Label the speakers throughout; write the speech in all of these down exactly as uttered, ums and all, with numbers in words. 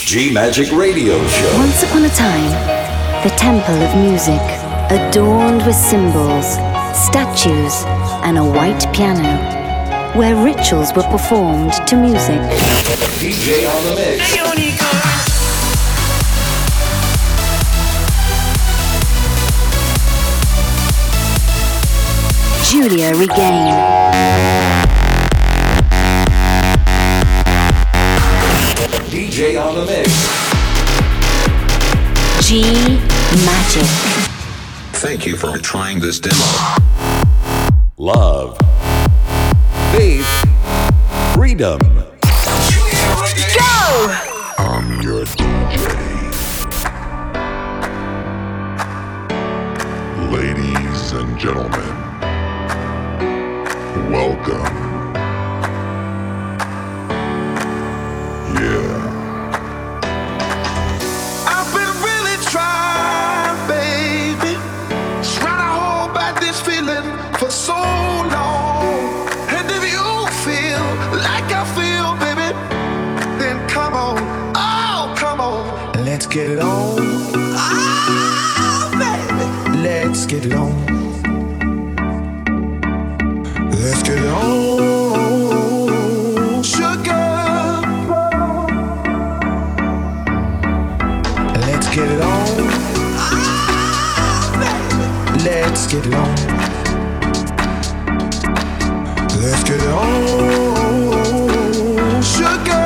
Speaker 1: G Magic Radio Show.
Speaker 2: Once upon a time, the temple of music, adorned with symbols, statues, and a white piano, where rituals were performed to music.
Speaker 1: D J on the mix.
Speaker 2: Giulia Regain.
Speaker 1: D J on the mix.
Speaker 2: G Magic.
Speaker 3: Thank you for trying this demo.
Speaker 1: Love. Faith. Freedom.
Speaker 2: Go!
Speaker 3: I'm your D J. Ladies and gentlemen, welcome. Yeah.
Speaker 4: I've been really trying, baby, trying to hold back this feeling for so long. And if you feel like I feel, baby, then come on, oh, come on, let's get it on. Oh, baby, let's get it on. Let's get it on, sugar. Let's get it on. Let's get it on. Let's get it on, sugar.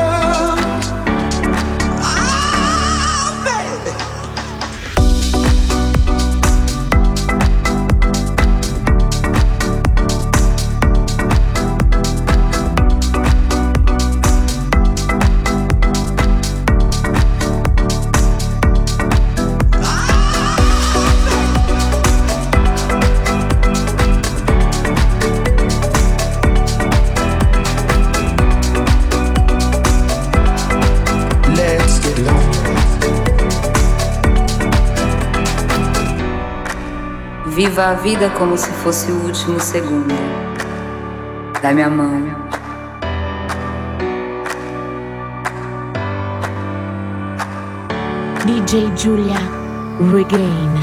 Speaker 5: Viva a vida como se fosse o último segundo. Dá-me a mão.
Speaker 6: D J Giulia Regain.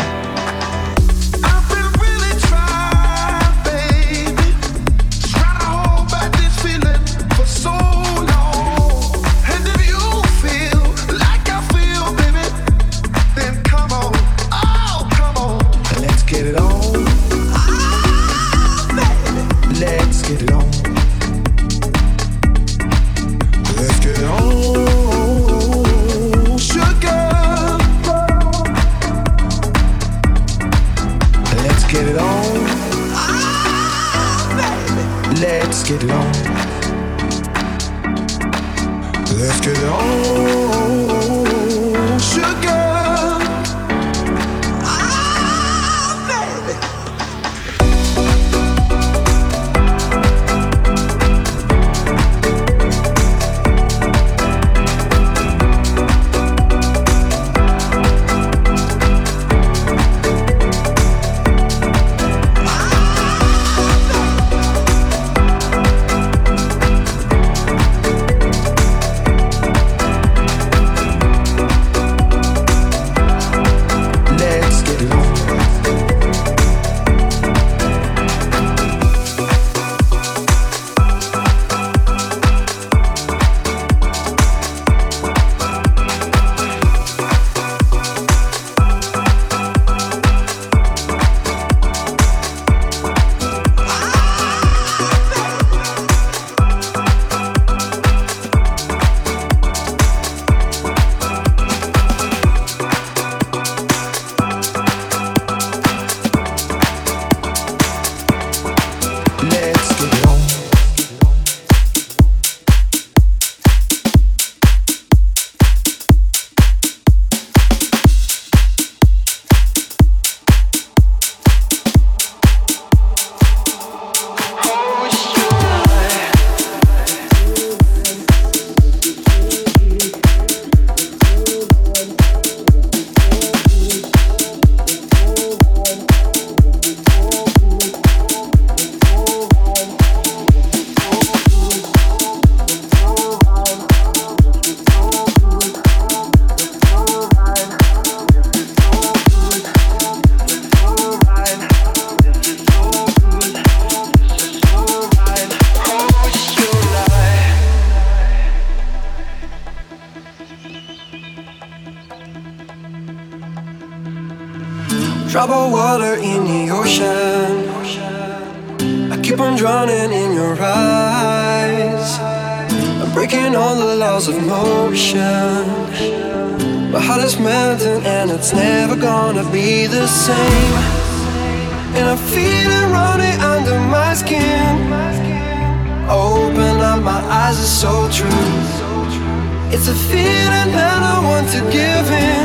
Speaker 7: drop of water in the ocean. I keep on drowning in your eyes. I'm breaking all the laws of motion. My heart is melting and it's never gonna be the same. And I feel it running under my skin. Open up my eyes, it's so true. It's a feeling that I want to give in.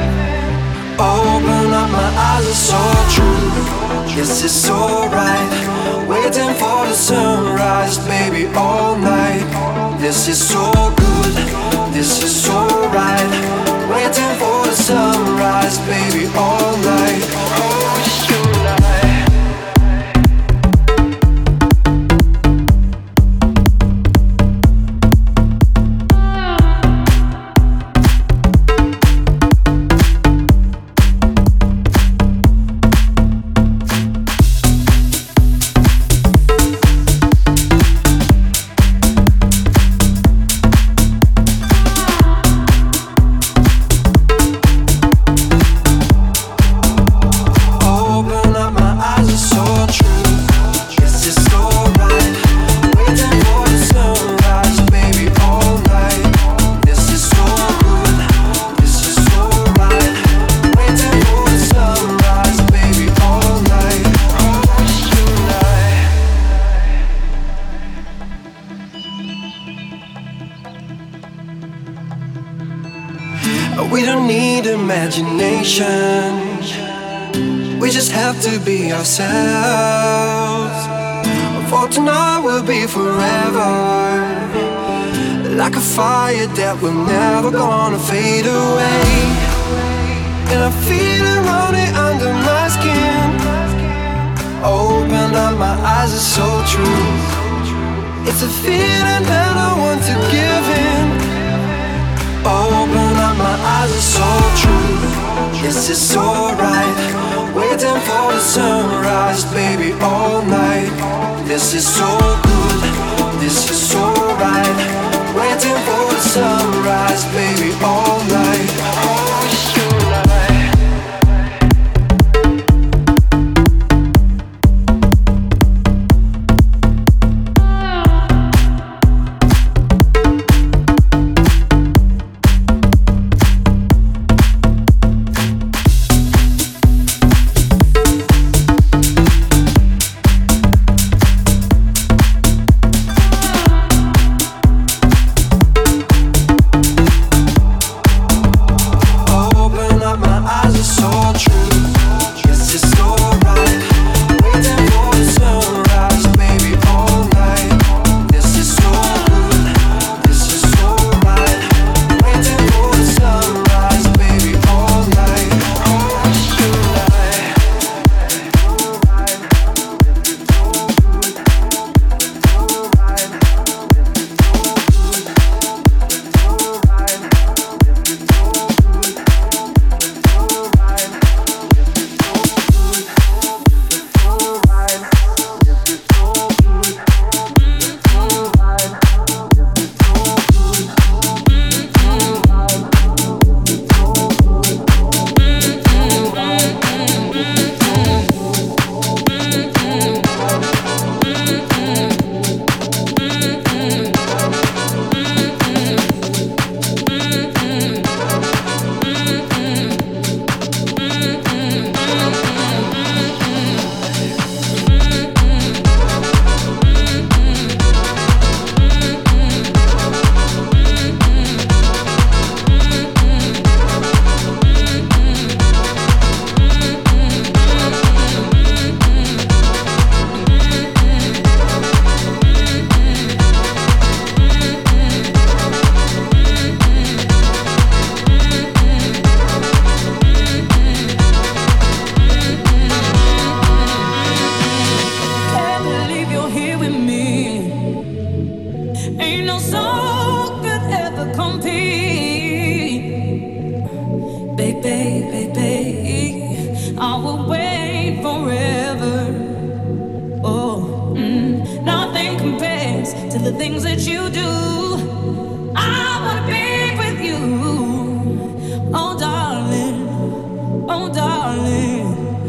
Speaker 7: Open up my eyes, it's so true. Yes, it's so right. Waiting for the sunrise, baby, all night. This is so good, this is so right. Waiting for the sunrise, baby, all night. Oh, you and I. We don't need imagination. We just have to be ourselves. For tonight will be forever. Like a fire that we're never gonna fade away. And I feel it running under my skin. Open up my eyes, it's so true. It's a feeling that I want to give in. Open up my eyes, it's so true. Yes, it's so right. Waiting for the sunrise, baby, all night. This is so good, this is so right. Waiting for the sunrise, baby, all night. Oh, you and I.
Speaker 8: Oh darling,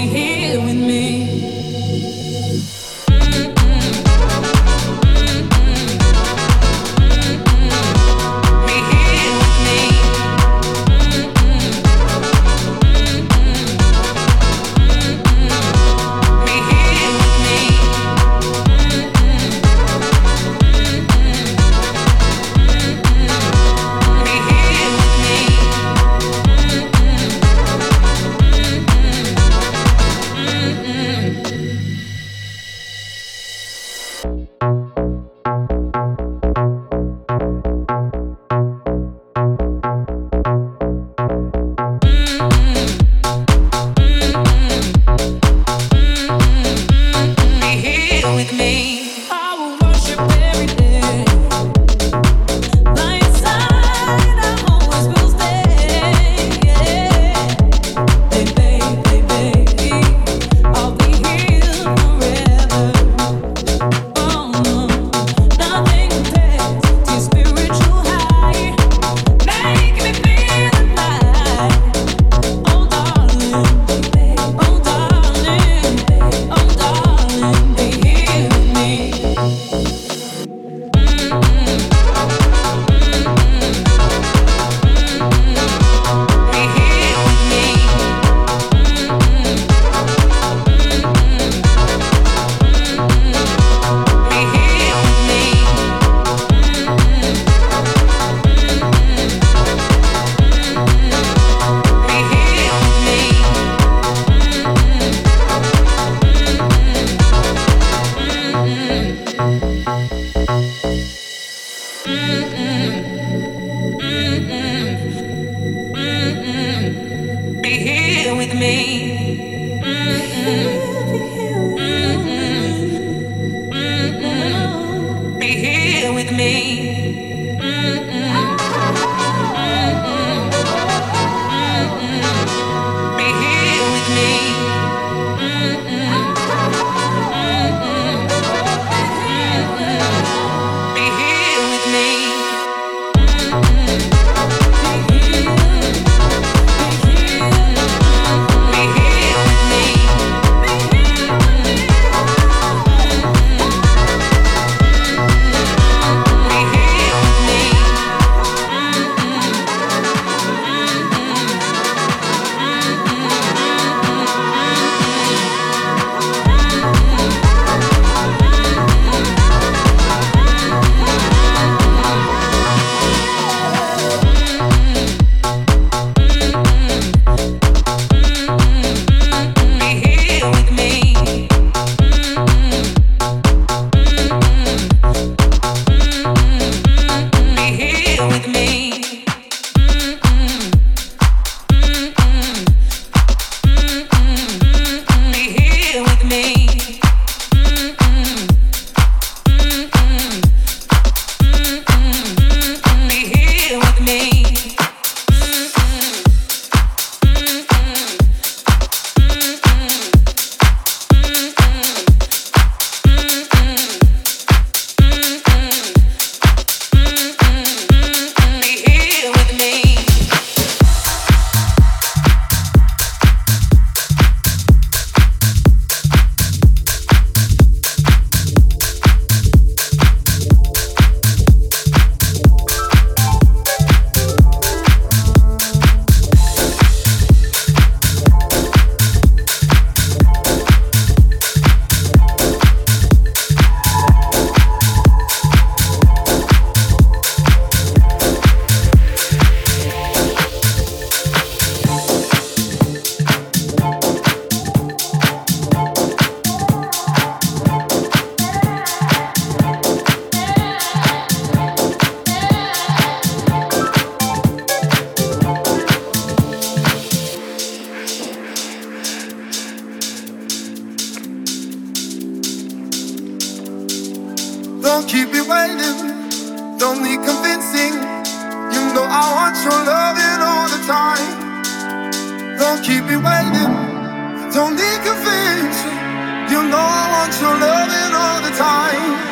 Speaker 8: Don't keep me waiting, don't need convincing. You know I want your loving all the time. Don't keep me waiting, don't need convincing. You know I want your loving all the time.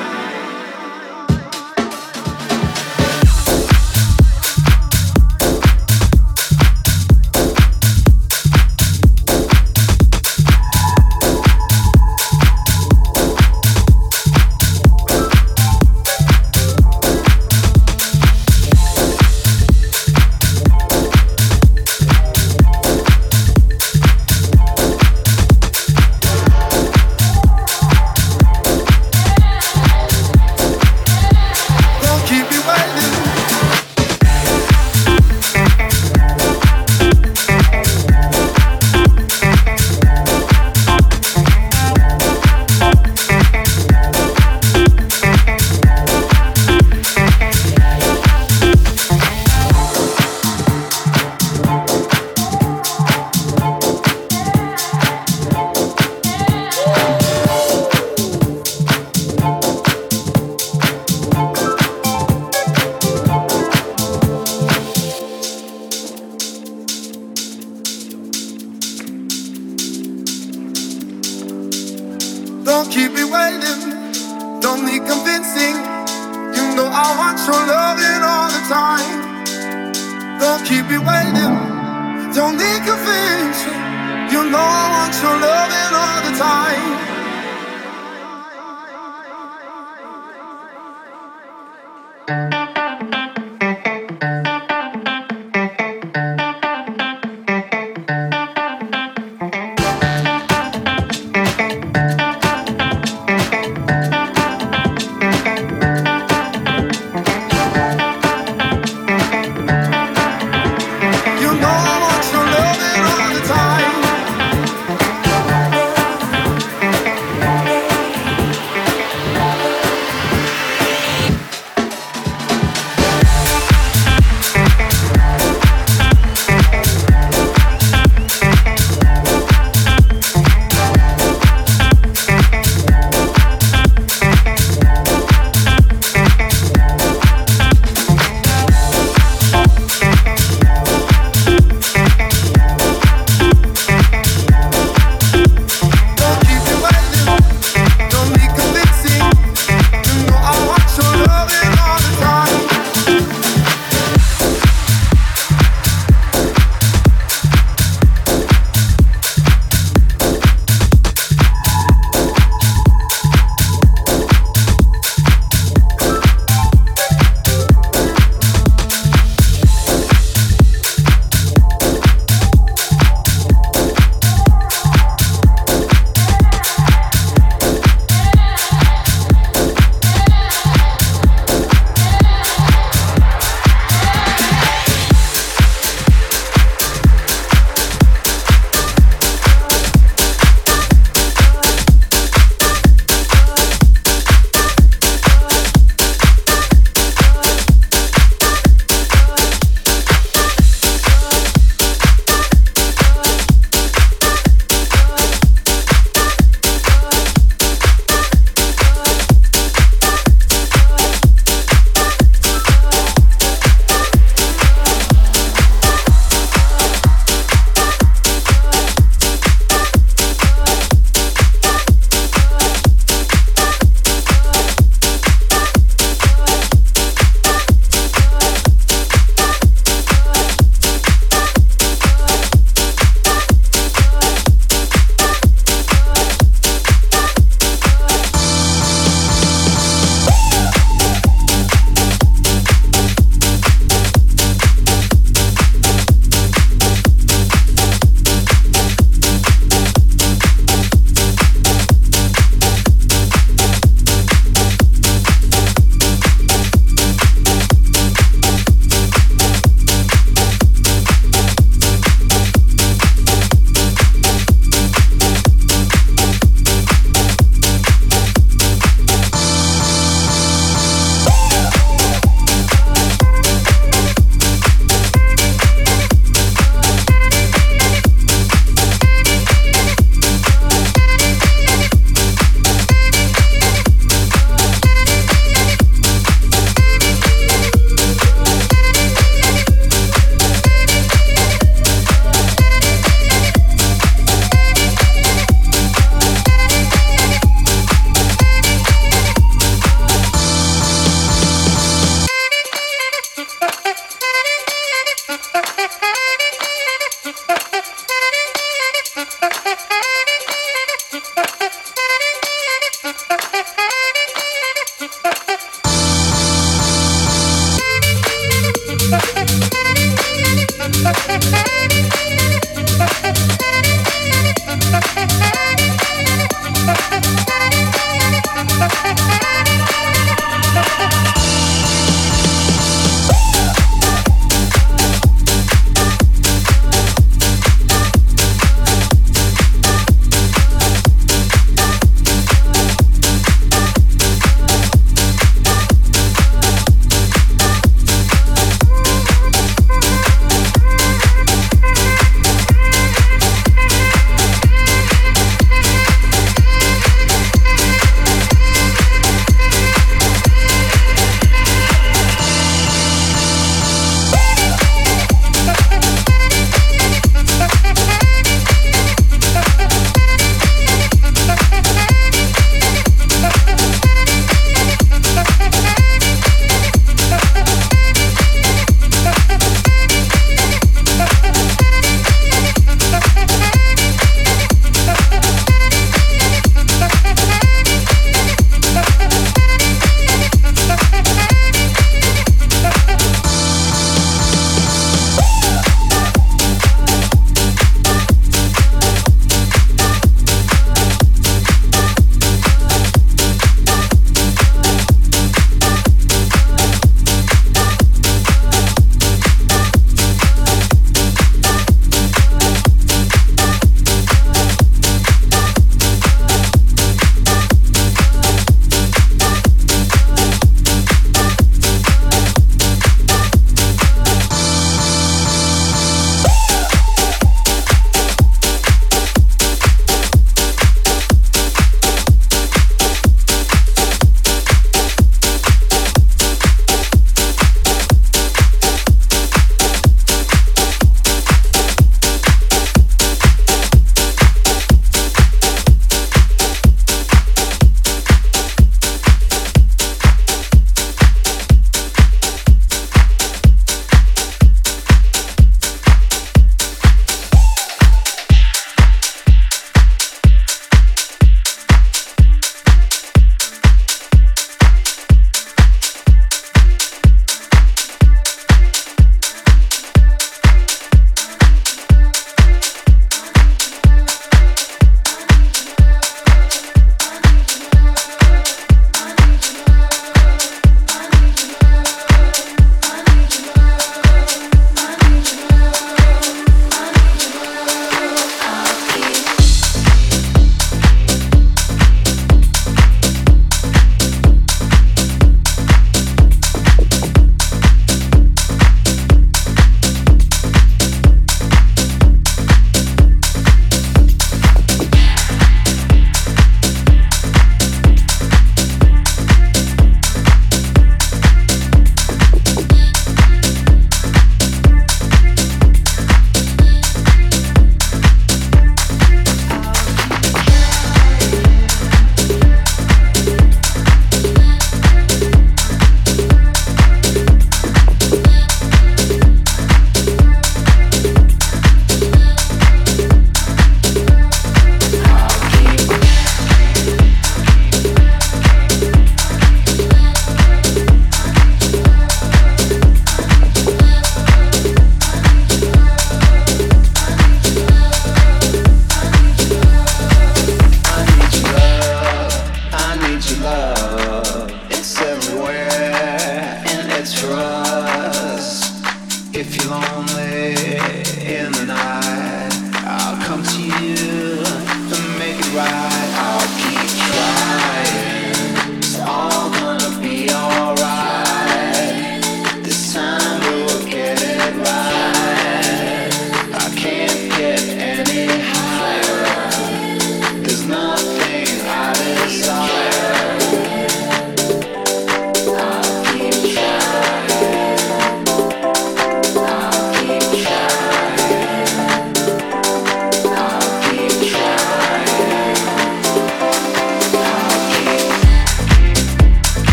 Speaker 8: your loving all the time. Don't keep me waiting. Don't need convincing. You know I want your loving all the time.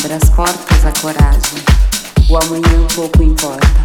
Speaker 5: abre as portas à coragem. O amanhã pouco importa.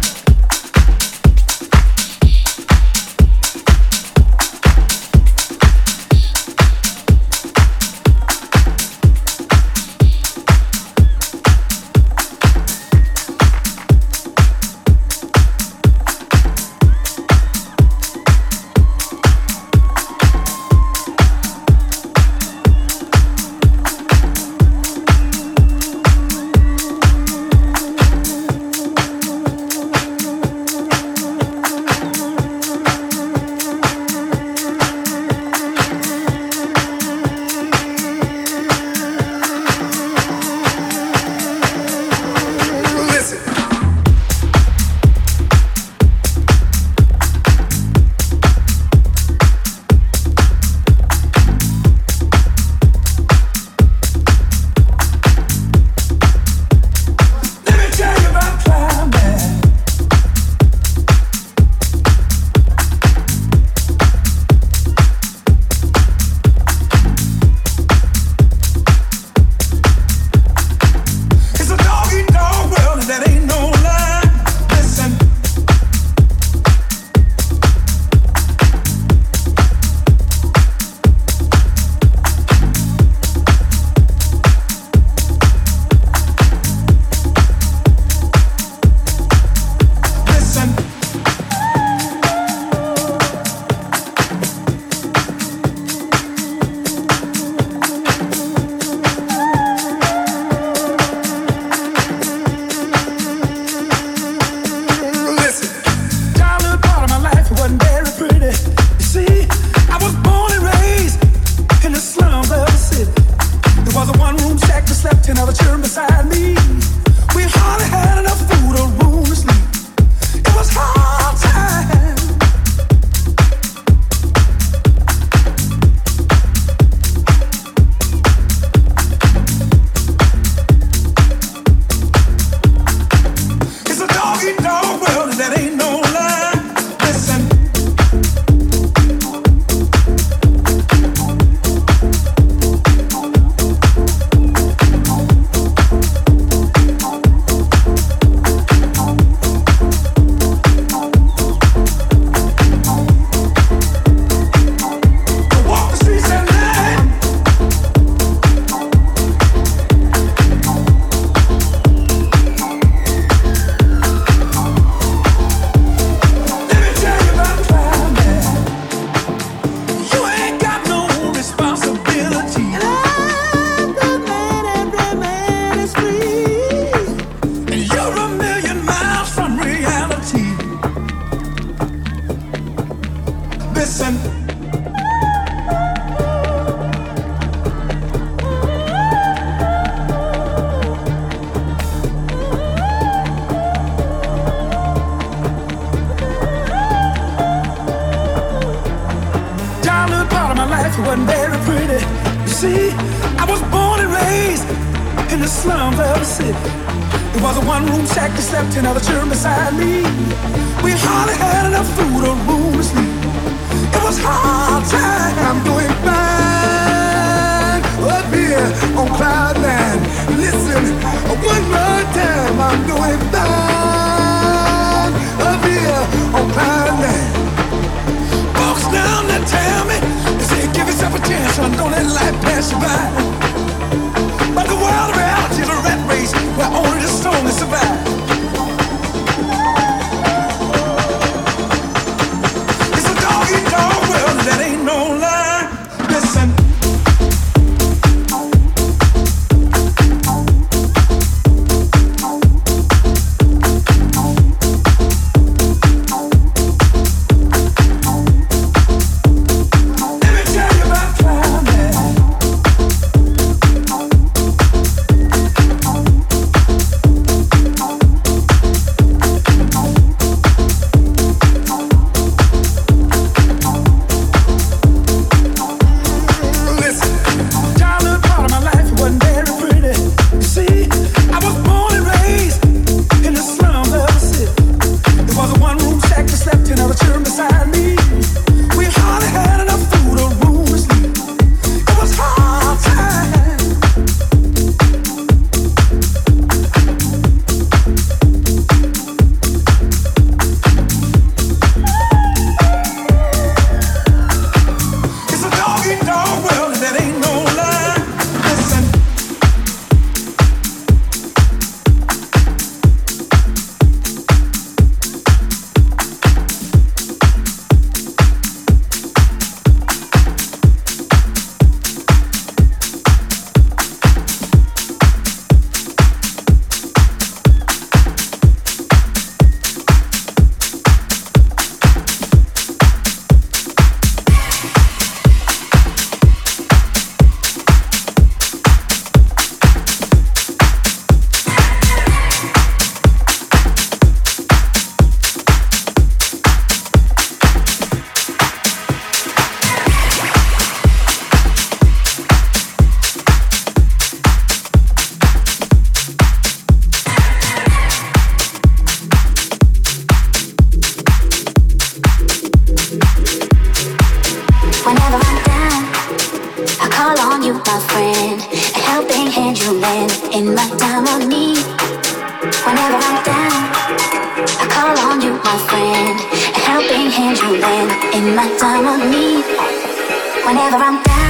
Speaker 2: friend, a helping hand you lend in my time of need. Whenever I'm down, I call on you, my friend, a helping hand you lend in my time of need. Whenever I'm down.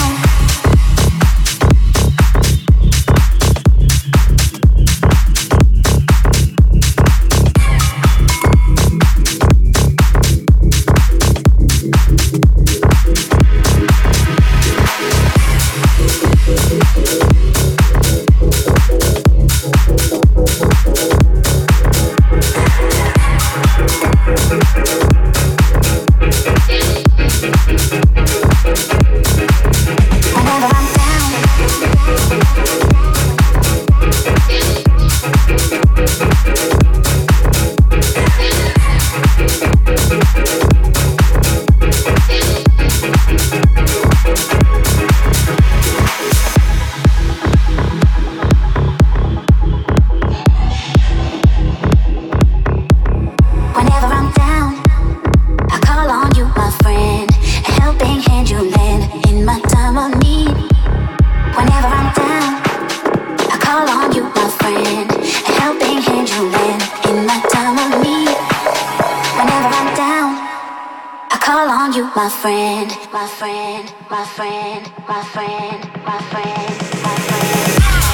Speaker 2: My friend, my friend, my friend, my friend, my friend, my friend.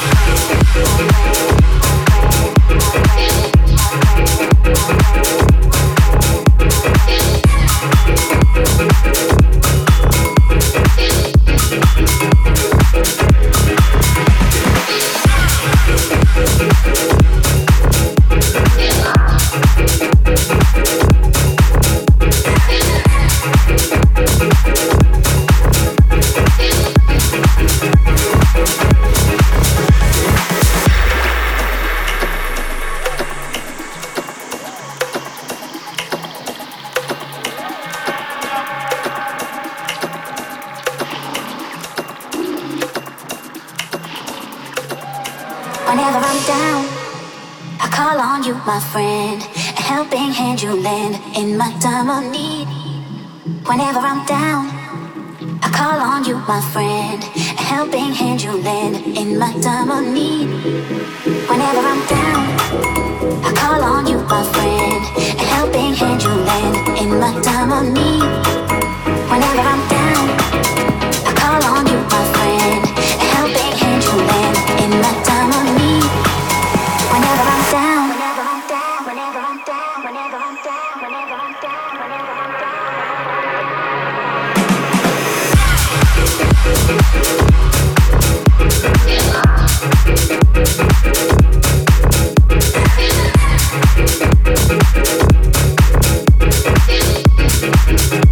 Speaker 2: Whenever I'm down, I call on you, my friend, a helping hand you lend in my time of need. Whenever I'm down, I call on you, my friend, a helping hand you lend in my time of need. Whenever I'm down, I call on you, my friend, a helping hand you lend in my time of need. Whenever I'm down, I call on you, my friend, a helping hand you lend in my time of need. Whenever I'm down, whenever I'm down, whenever I'm down, whenever I'm down, whenever I'm down, whenever I'm down.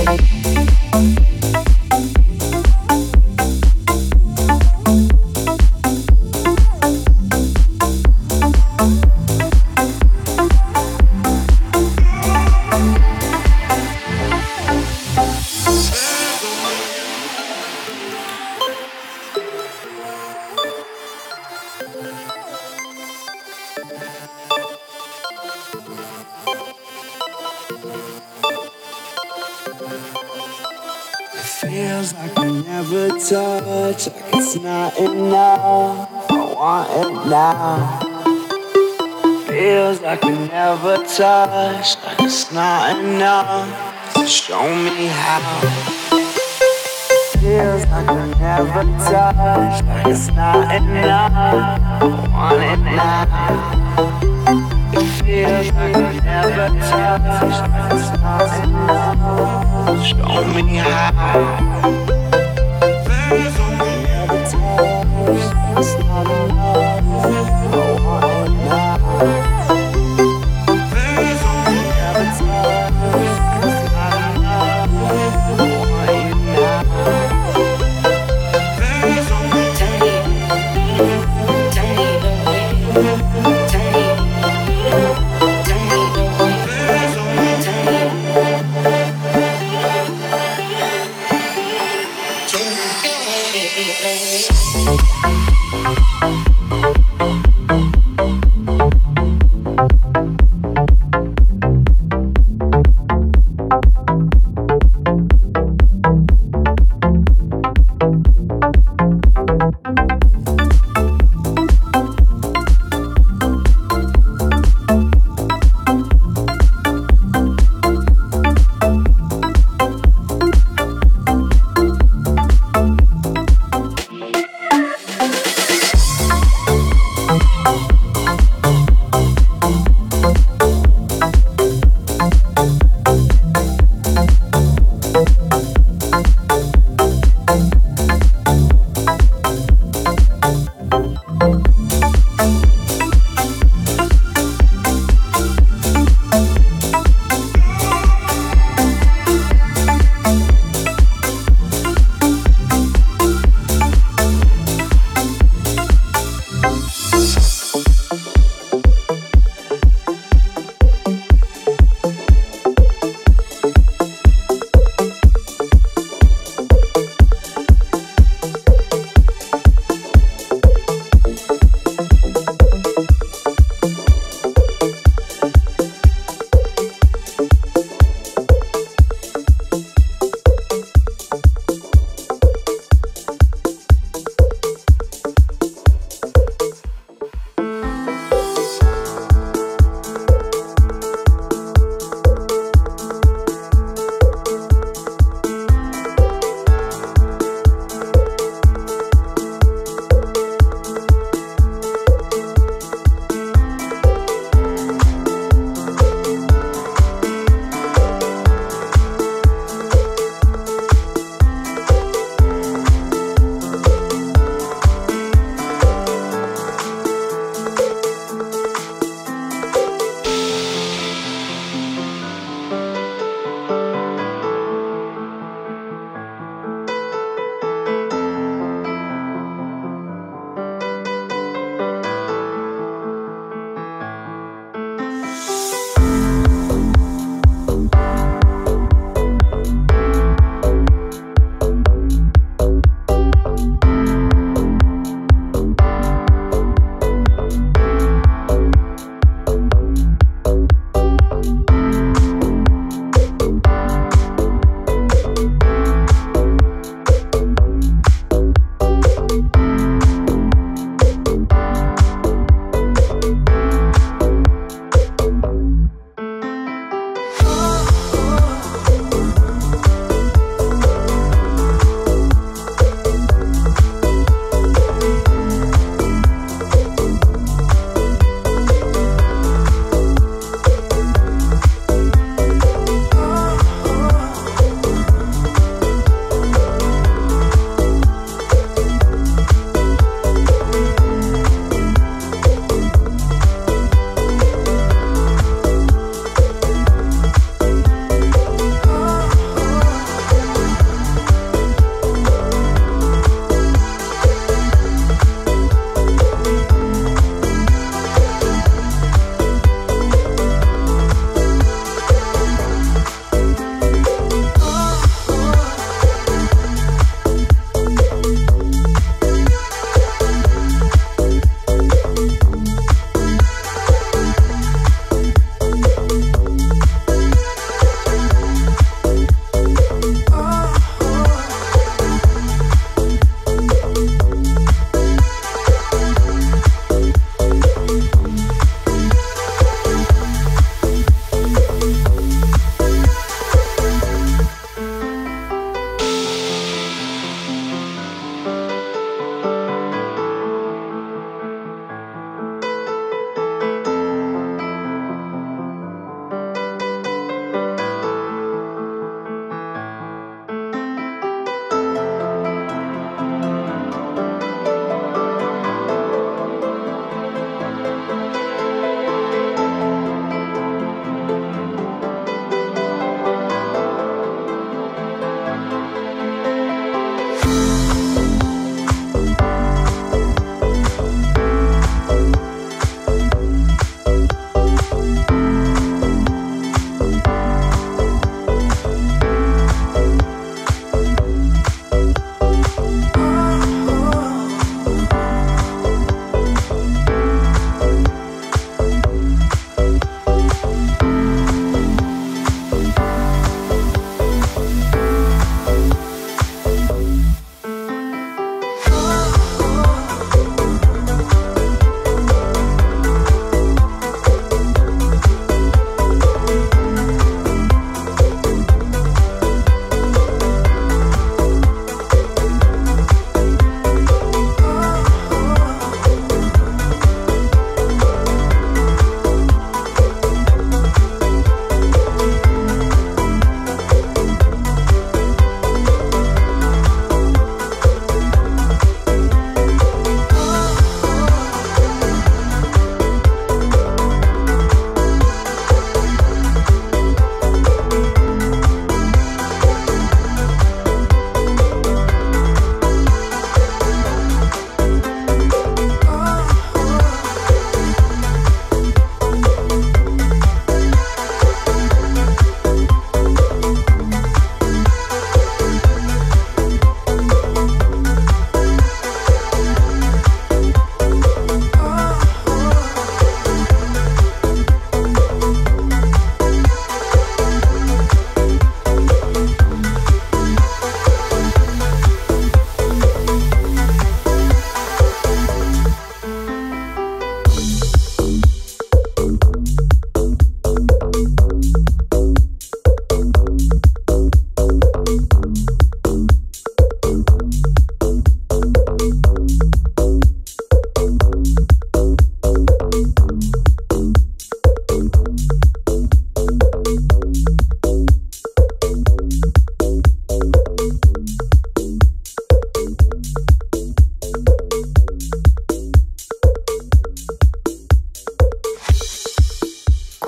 Speaker 9: Feels like I never touch, like it's not enough. I want it now. Feels like we never touch, like it's not enough. So show me how. Feels like we never touch, like it's not enough. I want it now. It feels like we never touch, like it's not enough. Show me how. There's only never touch, like it's not enough. I want it now. There's only never touch, like it's not enough. I want you now. There's only tell me, tell me the way, tell me.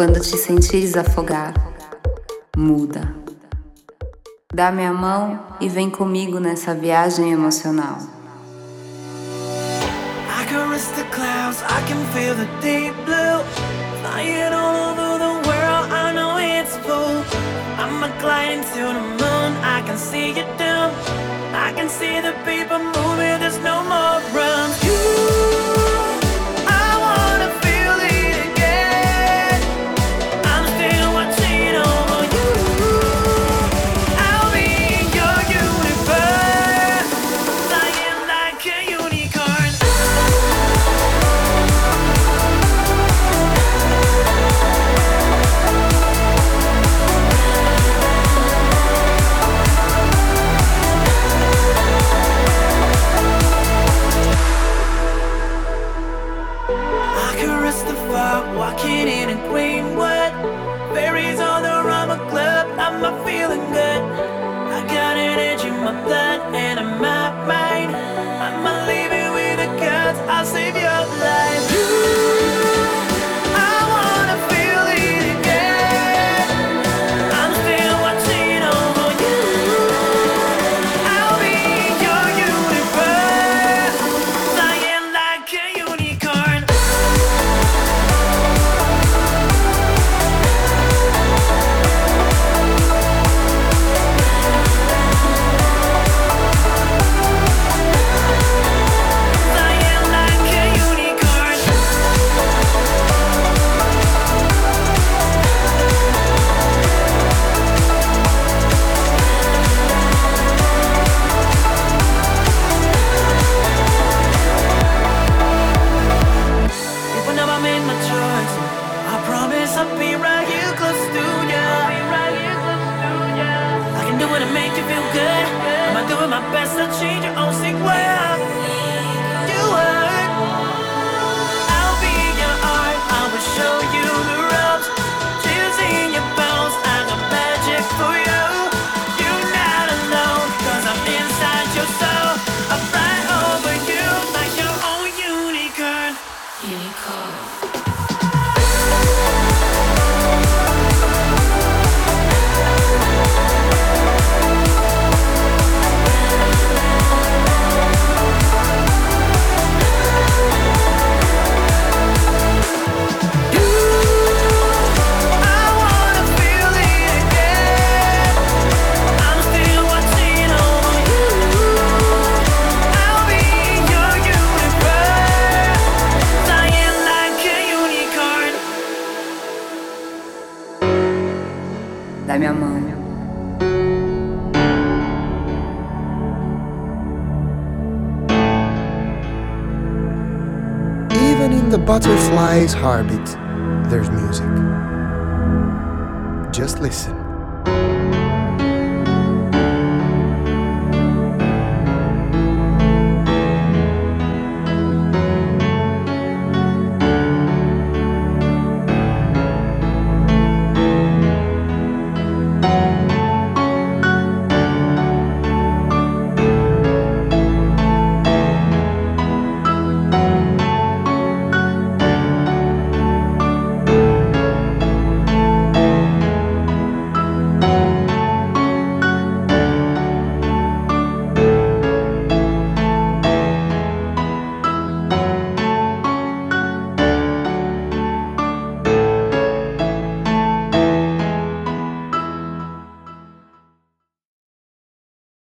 Speaker 5: Quando te sentires afogar, muda. Dá minha mão e vem comigo nessa viagem emocional.
Speaker 10: I can risk the clouds, I can feel the deep blue. Flying all over the world, I know it's full. I'm a gliding to the moon, I can see you down. I can see the people moving, there's no more run. You walking in a Greenwood, berries on the rubber club. I'm not feeling good. I got an edge in my blood and in my mind. I'm not leaving with the guts. I'll save your life. I wanna feel it again. I'm still watching over you. I'll be your universe, flying like a unicorn. I'll be right here close to you. I can do it to make you feel good. I'm doing my best to change your own sick way. You hurt. I'll be your art. I will show you the ropes. Chills in your bones. I got magic for you. You're not alone, cause I'm inside your soul. I'll fly over you like your own unicorn. Unicorn.
Speaker 5: Dá minha mão.
Speaker 11: Even in the butterfly's heartbeat, there's music. Just listen.